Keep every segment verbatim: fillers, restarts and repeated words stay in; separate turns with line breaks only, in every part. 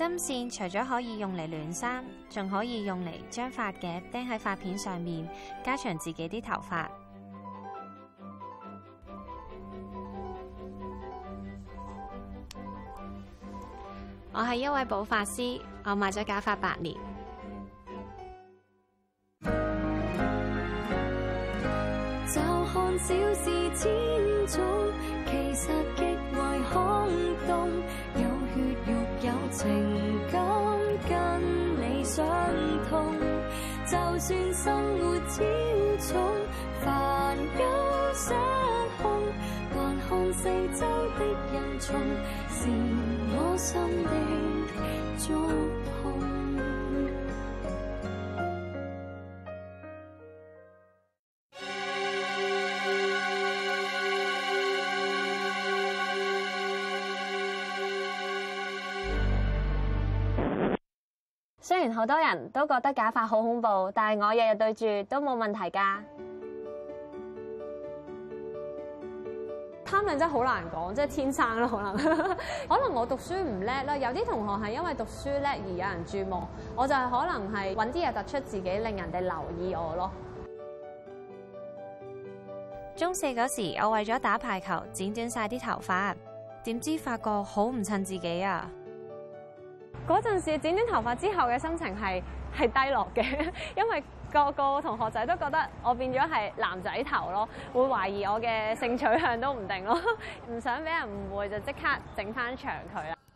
針線除咗可以用嚟暖衫，仲可以用嚟將髮夾釘喺髮片上面，加長自己啲頭髮。我係一位補髮師，我賣咗假髮八年。
就看小事千種，其實極為空洞。有血肉有情感，跟你相通。就算生活超重，煩憂失控，還看四周的人叢，是我心的觸碰。
雖然好多人都覺得假髮好恐怖，但係我日日對住都冇問題㗎。貪靚真係好難講，即係天生咯，可能可能我讀書唔叻啦，有啲同學係因為讀書叻而有人注目，我就係可能係揾啲嘢突出自己，令人哋留意我咯。中四嗰時，我為咗打排球剪短晒啲頭髮，點知發覺好唔襯自己啊！嗰陣時剪短頭髮之後嘅心情係係低落嘅，因為個個同學仔都覺得我變咗係男仔頭咯，會懷疑我嘅性取向都唔定咯，唔想俾人誤會就即刻整翻長佢啦。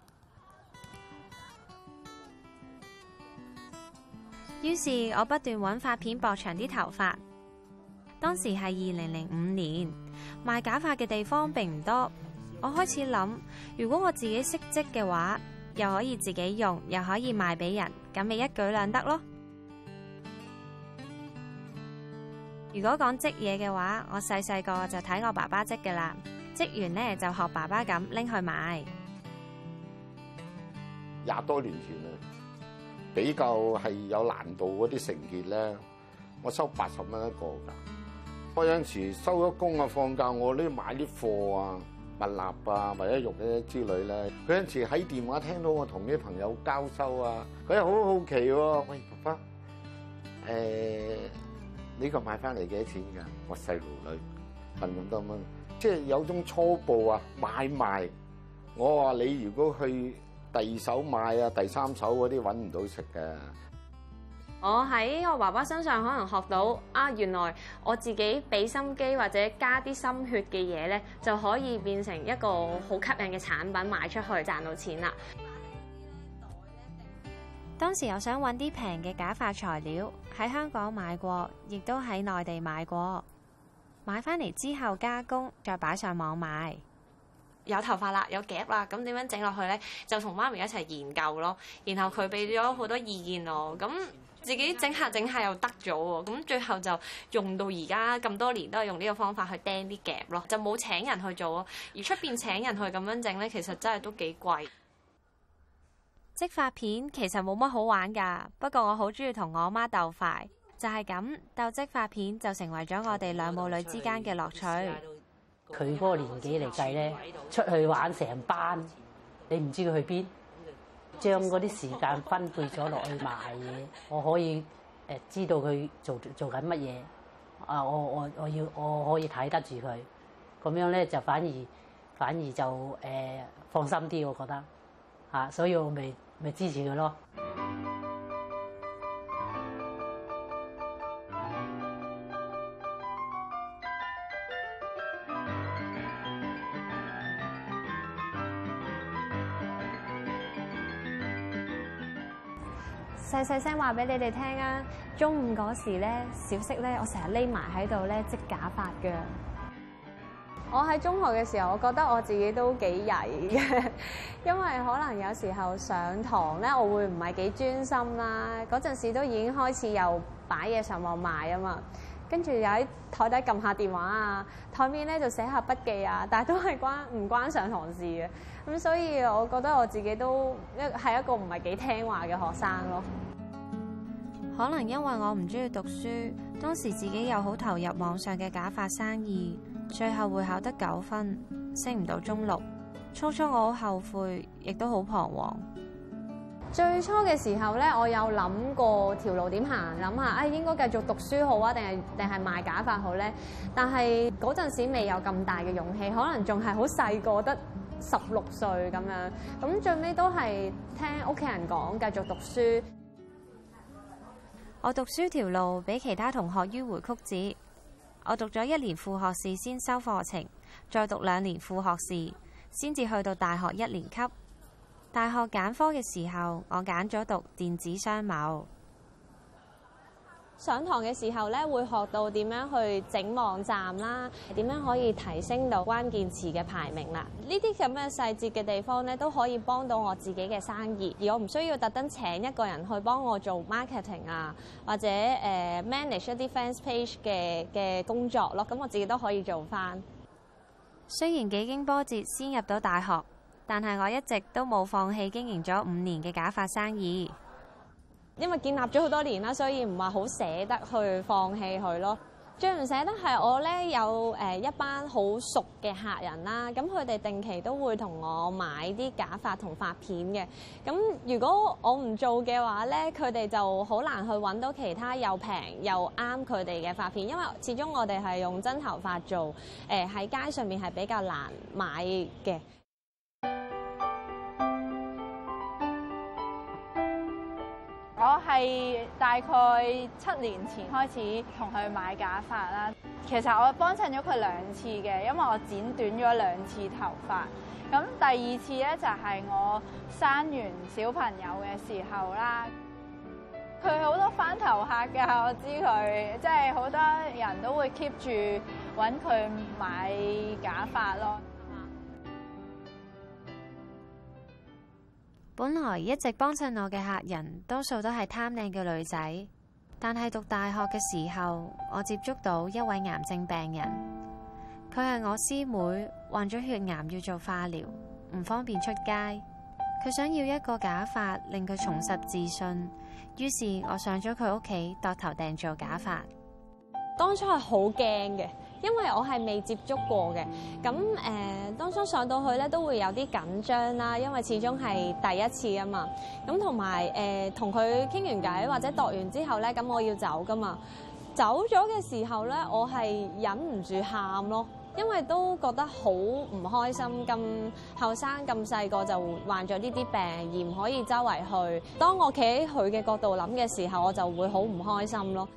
於是，我不斷揾髮片駁長啲頭髮。當時係二零零五年，賣假髮嘅地方並唔多，我開始諗，如果我自己識織嘅話，又可以自己用，又可以賣俾人，咁咪一舉兩得咯。如果講織嘢嘅話，我細細個就睇我爸爸織嘅啦，織完呢就學爸爸咁拎去賣。
廿多年前啊，比較係有難度嗰啲成結咧，我收八十蚊一個㗎。我有陣時收咗工啊，放假我都要買啲貨啊。蜜蠟啊，或者肉咧之類咧，佢有陣時喺電話聽到我同啲朋友交收啊，佢又好好奇喎。喂，爸爸，誒呢個買翻嚟幾多錢㗎？我細路女問咁多蚊，即係有種初步啊買賣。我話你如果去第二手買啊，第三手嗰啲揾唔到食嘅。
我喺我爸爸身上可能學到啊，原來我自己俾心機或者加啲心血嘅嘢咧，就可以變成一個好吸引嘅產品賣出去賺到錢啦。當時我想揾啲平嘅假髮材料，喺香港買過，亦都喺內地買過，買翻嚟之後加工，再擺上網賣。有頭髮啦，有夾啦，咁點樣整落去咧？就同媽咪一齊研究咯。然後佢俾咗好多意見我，咁自己整下整下又得咗喎。咁最後就用到而家咁多年都係用呢個方法去釘啲夾咯，就冇請人去做咯。而出邊請人去咁樣整咧，其實真係都幾貴。織髮片其實冇乜好玩㗎，不過我好中意同我媽鬥快，就係咁鬥織髮片就成為咗我哋兩母女之間嘅樂趣。
佢嗰個年紀嚟計咧，出去玩成班，你唔知佢去邊，將嗰啲時間分配咗落去賣嘢，我可以誒知道佢做做緊乜嘢，啊我我我要我可以睇得住佢，咁樣咧就反而反而就誒、呃、放心啲，我覺得嚇，所以我咪咪支持佢咯。
細細聲話俾你哋聽啊！中午嗰時咧，小息咧，我成日匿埋喺度咧織假髮㗎。我喺中學嘅時候，我覺得我自己都幾曳嘅，因為可能有時候上堂咧，我會唔係幾專心啦。嗰陣時都已經開始又擺嘢上網賣啊嘛，跟住又喺台底撳下電話啊，台面咧就寫下筆記啊，但係都係關唔關上堂事嘅。咁所以我覺得我自己都一係一個唔係幾聽話嘅學生咯。可能因為我唔中意讀書，當時自己又好投入網上嘅假髮生意，最後會考得九分，升唔到中六。初初我好後悔，亦都好彷徨。 最初嘅時候咧，我有諗過條路點行，諗下啊應該繼續讀書好啊，定係定係賣假髮好咧？但係嗰陣時未有咁大嘅勇氣，可能仲係好細個，得十六歲咁樣。咁最尾都係聽屋企人講，繼續讀書。
我讀書條路比其他同學迂迴曲折。我讀咗一年副學士先修課程，再讀兩年副學士，先至去到大學一年級。大學揀科嘅時候，我揀咗讀電子商貿。
上堂嘅時候咧，會學到點樣去整網站啦，點樣可以提升到關鍵詞嘅排名啦。呢啲咁嘅細節嘅地方咧，都可以幫到我自己嘅生意，而我唔需要特登請一個人去幫我做 marketing 啊，或者誒、呃、manage 一啲 fans page 嘅嘅工作咯。咁我自己都可以做返。
雖然幾經波折先入到大學，但係我一直都冇放棄經營咗五年嘅假髮生意。
因為建立咗好多年啦，所以唔係好捨得去放棄佢咯。最唔捨得係我咧有誒一班好熟嘅客人啦，咁佢哋定期都會同我買啲假髮同髮片嘅。咁如果我唔做嘅話咧，佢哋就好難去揾到其他又平又啱佢哋嘅髮片，因為始終我哋係用真頭髮做，誒喺街上面係比較難買嘅。
我係大概七年前開始同佢買假髮啦。其實我幫襯咗佢兩次嘅，因為我剪短咗兩次頭髮。咁第二次咧就係我生完小朋友嘅時候啦。佢好多返頭客㗎，我知佢即係好多人都會 keep 住揾佢買假髮咯。
本來一直幫襯我嘅客人，多數都係貪靚嘅女仔。但係讀大學嘅時候，我接觸到一位癌症病人，佢係我師妹，患咗血癌要做化療，唔方便出街。佢想要一個假髮令佢重拾自信，於是我上咗佢屋企度頭訂做假髮。
當初係好驚嘅，因為我係未接觸過嘅。咁誒、呃，當初上到去咧都會有啲緊張啦，因為始終係第一次啊嘛。咁同埋誒，同佢傾完偈或者度完之後咧，咁我要走噶嘛。走咗嘅時候咧，我係忍唔住喊咯，因為都覺得好唔開心。咁後生咁細個就患咗呢啲病，而唔可以周圍去。當我企喺佢嘅角度諗嘅時候，我就會好唔開心咯。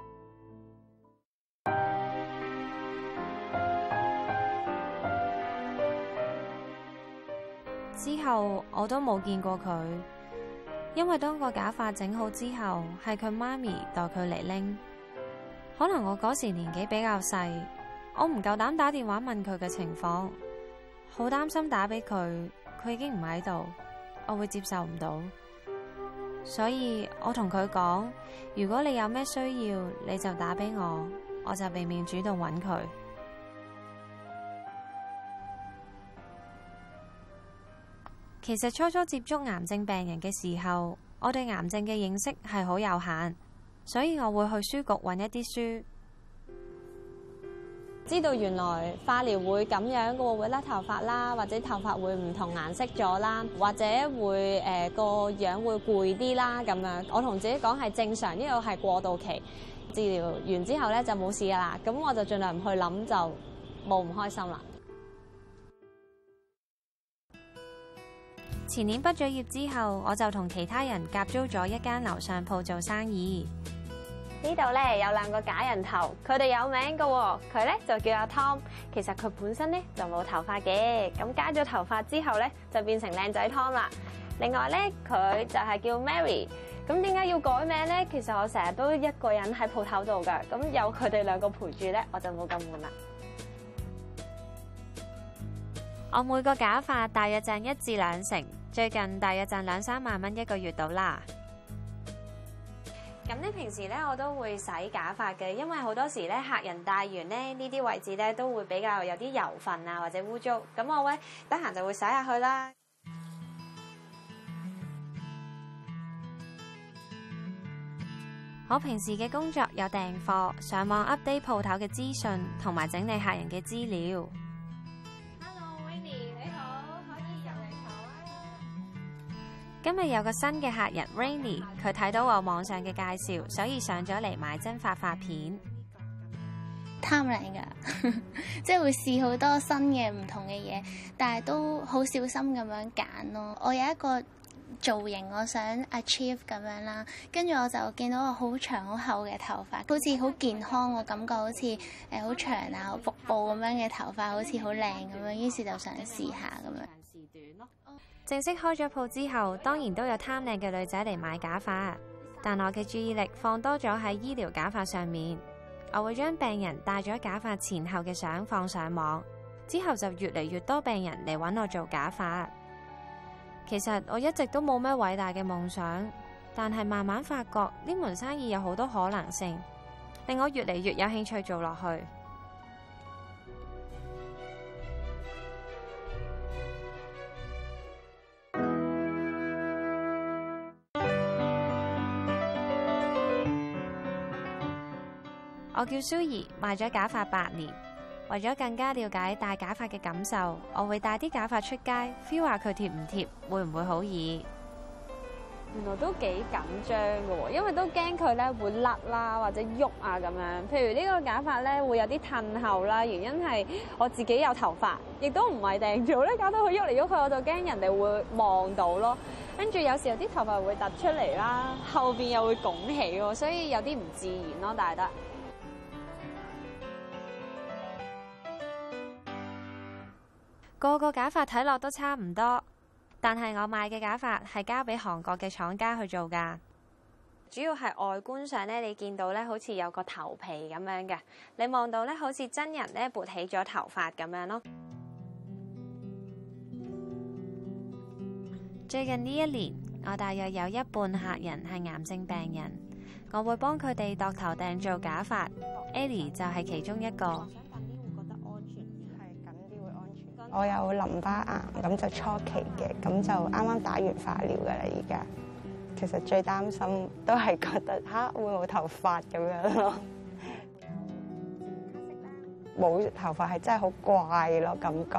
之後我都冇見過佢，因為當個假髮整好之後，係佢媽咪代佢嚟拎。可能我嗰時年紀比較細，我唔夠膽打電話問佢嘅情況，好擔心打俾佢，佢已經唔喺度，我會接受唔到。所以我同佢講，如果你有咩需要，你就打俾我，我就避免主動揾佢。其實初初接觸癌症病人嘅時候，我對癌症嘅認識係好有限，所以我會去書局揾一啲書，
知道原來化療會咁樣嘅喎，會甩頭髮啦，或者頭髮會唔同顏色咗啦，或者會誒個、呃、樣會攰啲啦咁樣。我同自己講係正常，呢個係過渡期，治療完之後咧就冇事噶啦。咁我就盡量唔去諗，就冇唔開心啦。
前年畢咗業之後，我就同其他人夾租咗一間樓上鋪做生意。
呢度咧有兩個假人頭，佢哋有名噶喎。佢咧就叫阿 Tom， 其實佢本身咧就冇頭髮嘅，咁加咗頭髮之後咧就變成靚仔 Tom 啦。另外咧佢就係叫 Mary， 咁點解要改名咧？其實我成日都一個人喺鋪頭度噶，咁有佢哋兩個陪住咧，我就冇咁悶啦。
我每個假髮大約賺一至兩成，最近大約賺兩三萬蚊一個月到啦。
咁咧平時咧我都會洗假髮嘅，因為好多時咧客人戴完咧呢啲位置咧都會比較有啲油份啊或者污糟，咁我咧得閒就會洗下佢啦。
我平時嘅工作有訂貨、上網 update 鋪頭嘅資訊同埋整理客人嘅資料。 今日有個新嘅客人 Rainy， 佢睇到我網上嘅介紹，所以上咗嚟買真髮髮片。
貪靚㗎，即係會試好多新嘅唔同嘅嘢，但係都好小心咁樣揀咯。我有一個造型我想 achieve 咁樣啦，跟住我就見到我好長好厚嘅頭髮，好似好健康嘅感覺，好似誒好長啊，好瀑布咁樣嘅頭髮，好似好靚咁樣，於是就想試下咁樣。
正式開咗鋪之後，當然都有貪靚嘅女仔嚟買假髮，但我嘅注意力放多咗喺醫療假髮上面。我會將病人戴咗假髮前後嘅相放上網，之後就越嚟越多病人嚟揾我做假髮。其實我一直都冇咩偉大嘅夢想，但係慢慢發覺呢門生意有好多可能性，令我越嚟越有興趣做落去。我叫蘇怡，賣咗假髮八年。為咗更加了解戴假髮嘅感受，我會帶啲假髮出街 feel 下佢貼唔貼，會唔會好易？
原來都幾緊張嘅喎，因為都驚佢咧會甩啦或者喐啊咁樣。譬如呢個假髮咧會有啲褪後啦，原因係我自己有頭髮，亦都唔係訂做咧，搞到佢喐嚟喐去，我就驚人哋會望到咯。跟住有時候啲頭髮會突出嚟啦，後邊又會拱起喎，所以有啲唔自然咯，戴得。
個個假髮睇落都差唔多，但係我買嘅假髮係交俾韓國嘅廠家去做㗎。主要係外觀上咧，你見到咧好似有個頭皮咁樣嘅，你望到咧好似真人咧撥起咗頭髮咁樣咯。最近呢一年，我大約有一半客人係癌症病人，我會幫佢哋度頭訂做假髮。Ellie 就係其中一個。
我有淋巴癌，咁就初期嘅，咁就啱啱打完化療㗎啦。而家其實最擔心都係覺得吓會冇頭髮咁樣咯，冇頭髮係真係好怪咯感覺。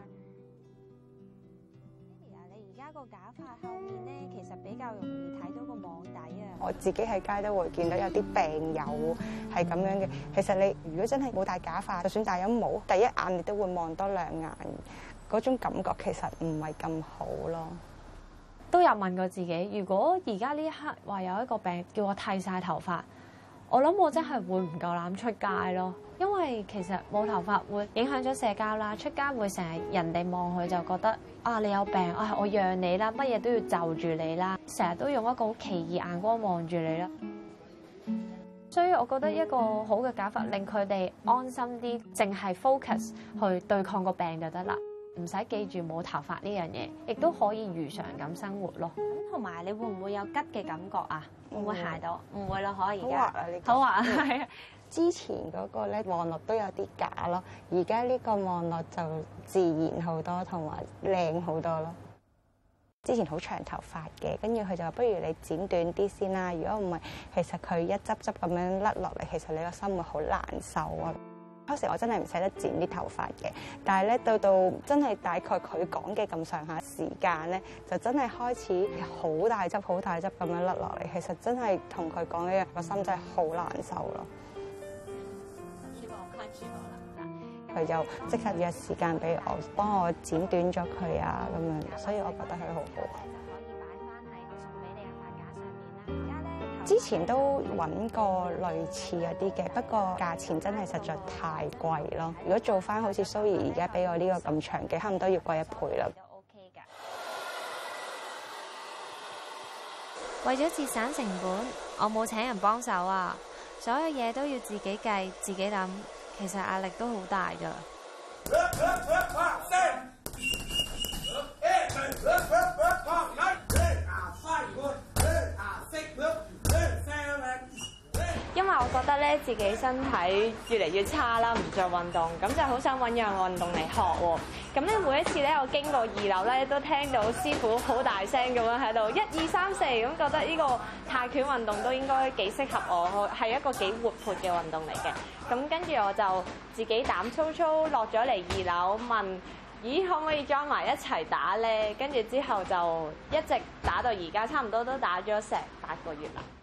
你而家個假髮後面咧，其實比較容易睇到個網底啊。
我自己喺街都會見到有啲病友係咁樣嘅。其實你如果真係冇戴假髮，就算戴咗帽，第一眼你都會望多兩眼，嗰種感覺其實唔係咁好咯。
都有問過自己，如果而家呢一刻話有一個病叫我剃晒頭髮，我諗我真係會唔夠膽出街咯。因為其實冇頭髮會影響咗社交啦，出街會成日人哋望佢就覺得啊你有病啊，我讓你啦，乜嘢都要就住你啦，成日都用一個好奇異眼光望住你啦。所以我覺得一個好嘅假髮令佢哋安心啲，淨係 focus 去對抗個病就得啦，唔使記住冇頭髮呢樣嘢，亦都可以如常咁生活咯。
同埋你會唔會有吉嘅感覺啊？會唔會揩到？唔會咯，可以。
好滑啊！呢個
好滑係啊。
之前嗰個咧望落都有啲假咯，而家呢個望落就自然好多，同埋靚好多咯。之前好長頭髮嘅，跟住佢就話：不如你剪短啲先啦。如果唔係，其實佢一執執咁樣甩落嚟，其實你個心會好難受啊。嗰時我真係唔捨得剪啲頭髮嘅，但係咧到到真係大概佢講嘅咁上下時間咧，就真係開始好大執好大執咁樣甩落嚟。其實真係同佢講一樣，個心真係好難受咯。佢就即刻約時間俾我，幫我剪短咗佢啊咁樣，所以我覺得佢好好。之前都揾過類似嗰啲嘅，不過價錢真係實在太貴咯。如果做翻好似蘇怡而家俾我呢個咁長嘅，差唔多要貴一倍啦。
都 OK 㗎。為咗節省成本，我冇請人幫手啊，所有嘢都要自己計、自己諗，其實壓力都好大㗎。
因為我覺得咧自己身體越嚟越差啦，唔做運動，咁就好想揾樣運動嚟學喎。咁咧每一次咧我經過二樓咧，都聽到師傅好大聲咁樣喺度一二三四，咁覺得呢個泰拳運動都應該幾適合我，係一個幾活潑嘅運動嚟嘅。咁跟住我就自己膽粗粗落咗嚟二樓問
咦，可唔可以 join 埋一齊打咧？跟住之後就一直打到而家，差唔多都打咗成八個月啦。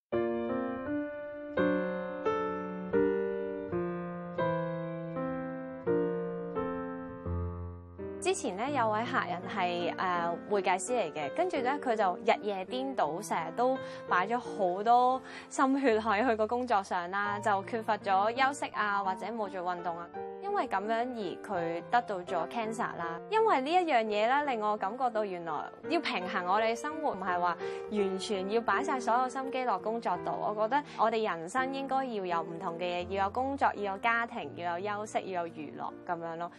之前咧有位客人係誒、呃、會計師嚟嘅，跟住咧佢就日夜顛倒，成日都擺咗好多心血喺佢個工作上啦，就缺乏咗休息啊，或者冇做運動啊。因為咁樣而佢得到咗 cancer 啦。因為呢一樣嘢咧，令我感覺到原來要平衡我哋生活，唔係話完全要擺晒所有心機落工作度。我覺得我哋人生應該要有唔同嘅嘢，要有工作，要有家庭，要有休息，要有娛樂咁樣咯。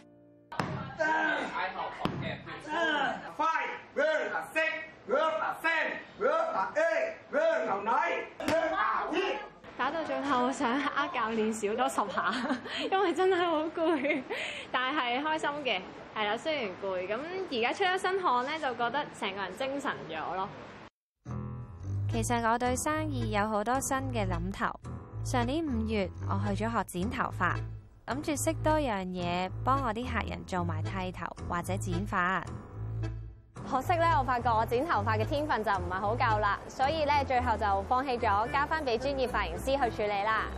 打到最後想呃教練少多十下，因為真係好攰，但係開心嘅，係啦。雖然攰，咁而家出咗身汗咧，就覺得成個人精神咗咯。
其實我對生意有好多新嘅諗頭。上年五月，我去咗學剪頭髮。諗住識多樣嘢，幫我啲客人做埋剃頭或者剪髮。
可惜咧，我發覺我剪頭髮嘅天分就唔係好夠啦，所以咧最後就放棄咗，交翻俾專業髮型師去處理啦。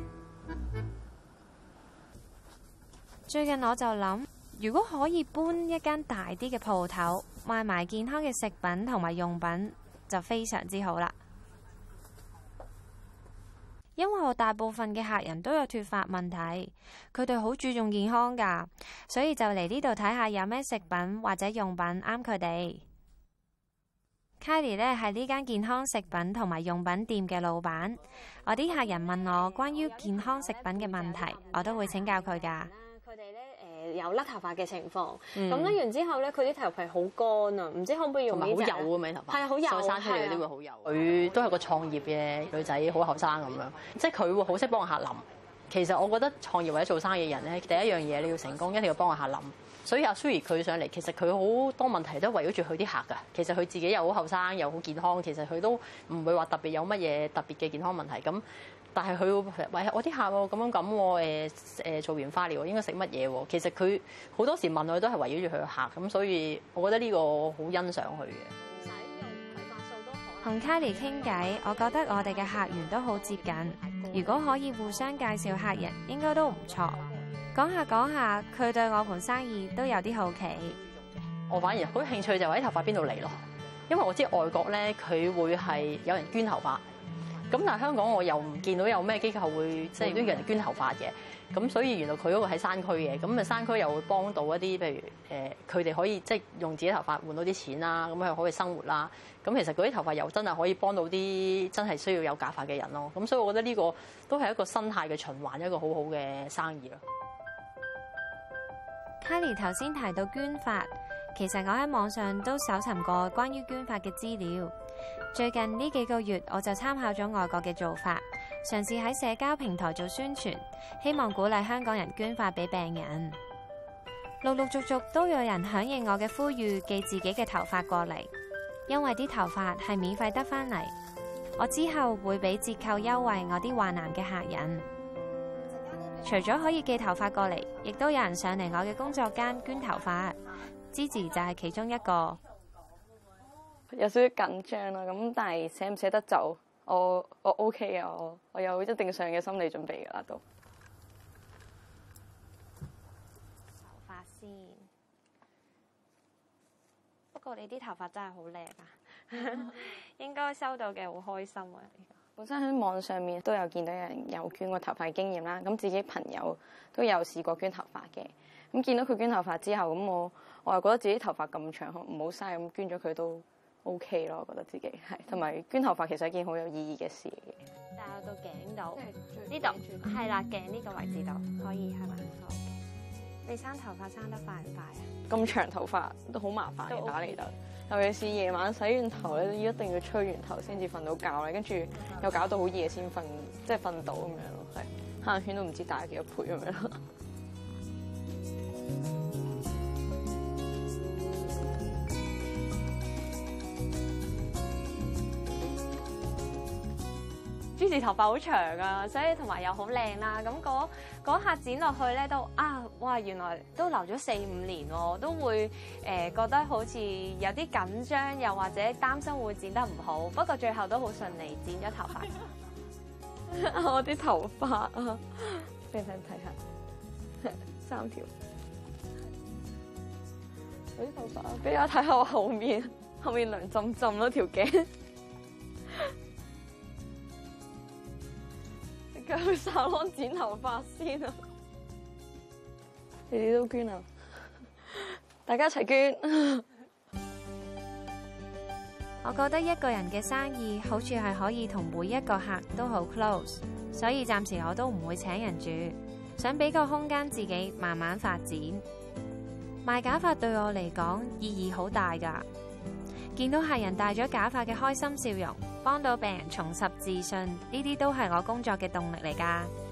最近我就諗，如果可以搬一間大啲嘅鋪頭，賣埋健康嘅食品同埋用品，就非常之好啦。因為我大部分嘅客人都有脫髮問題，佢哋好注重健康㗎，所以就嚟呢度睇下有咩食品或者用品啱佢哋。Kylie 咧係呢間健康食品同埋用品店嘅老闆，我啲客人問我關於健康食品嘅問題，我都會請教佢㗎。
佢哋咧誒有甩頭髮嘅情況，咁甩、嗯、完之後咧，佢啲頭皮好乾啊，唔知可唔可以用呢隻？
同埋好幼啊，咪頭髮。係啊，
好幼。
生出嚟嗰啲會好幼。佢都係個創業嘅女仔，好後生咁樣，即係佢會好識幫客諗。其實我覺得創業或者做生意嘅人咧，第一樣嘢你要成功，一定要幫個客諗。所以阿 Suri 佢上嚟，其實佢好多問題都圍繞住佢啲客㗎。其實佢自己又好後生，又好健康，其實佢都唔會話特別有乜嘢特別嘅健康問題咁。但係佢會喂我啲客喎咁樣咁喎，誒誒做完化療應該食乜嘢喎？其實佢好多時問我都係圍繞住佢嘅客咁，所以我覺得呢個好欣賞佢嘅。
唔使用佢發數都可。
同 Kylie 傾偈，我覺得我哋嘅客源都好接近。如果可以互相介紹客人，應該都唔錯。講下講下，佢對我盤生意都有啲好奇。
我反而好興趣就喺頭髮邊度嚟咯，因為我知外國咧佢會係有人捐頭髮。咁但係香港我又唔見到有咩機構會即係都有人捐頭髮嘅，咁所以原來佢嗰個喺山區嘅，咁啊山區又會幫到一啲譬如誒佢哋可以即係用自己頭髮換到啲錢啦，咁佢可以生活啦。咁其實嗰啲頭髮又真係可以幫到啲真係需要有假髮嘅人咯。咁所以我覺得呢個都係一個生態嘅循環，一個好好嘅生意咯。
Kylie 頭先提到捐髮，其實我喺網上都搜尋過關於捐髮嘅資料。最近呢幾個月，我就參考咗外國嘅做法，嘗試喺社交平台做宣傳，希望鼓勵香港人捐髮俾病人。陸陸續續都有人響應我嘅呼籲，寄自己嘅頭髮過嚟，因為啲頭髮係免費得返嚟。我之後會俾折扣優惠我啲患癌嘅客人。除咗可以寄頭髮過嚟，亦都有人上嚟我嘅工作間捐頭髮。Gigi 就係其中一個。
有少少緊張啦，咁但係捨唔捨得就我我 OK 啊，我我有一定上嘅心理準備㗎啦都。
頭髮先，不過你啲頭髮真係好靚啊，應該收到嘅好開心啊！
本身喺網上面都有見到有人有捐過頭髮嘅經驗啦，咁自己朋友都有試過捐頭髮嘅，咁見到佢捐頭髮之後，咁我我又覺得自己頭髮咁長，唔好嘥咁捐咗佢都 OK 咯，我覺得自己係，同埋捐頭髮其實係一件好有意義嘅事嚟嘅。
戴到頸度，呢度係啦，頸呢個位置度可以係咪？好嘅。你生頭髮生得快唔快啊？
咁長頭髮都好麻煩嘅打理得，尤其是夜晚洗完頭咧，一定要吹完頭先至瞓到覺咧，跟住又搞到好夜先瞓，即係瞓到咁樣咯，係行圈都唔知大幾多倍咁樣咯。
Gigi 時頭髮好長啊，所以同埋又好靚啦。咁嗰嗰下剪落去咧都啊，哇！原來都留咗四五年喎，都會誒、呃、覺得好似有啲緊張，又或者擔心會剪得唔好。不過最後都好順利剪咗頭髮。
我啲頭髮啊，俾你睇睇下，三條。我啲頭髮，俾我睇下我後面，後面涼浸浸咯條頸。去沙龍剪頭髮先啊！你哋都捐啊！大家一齊捐。
我覺得一個人嘅生意好處係可以同每一個客都好 close，所以暫時我都唔會請人住，想俾個空間自己慢慢發展。賣假髮對我嚟講意義好大㗎，見到客人戴咗假髮嘅開心笑容，幫到病人重拾自信，呢啲都係我工作嘅動力嚟㗎。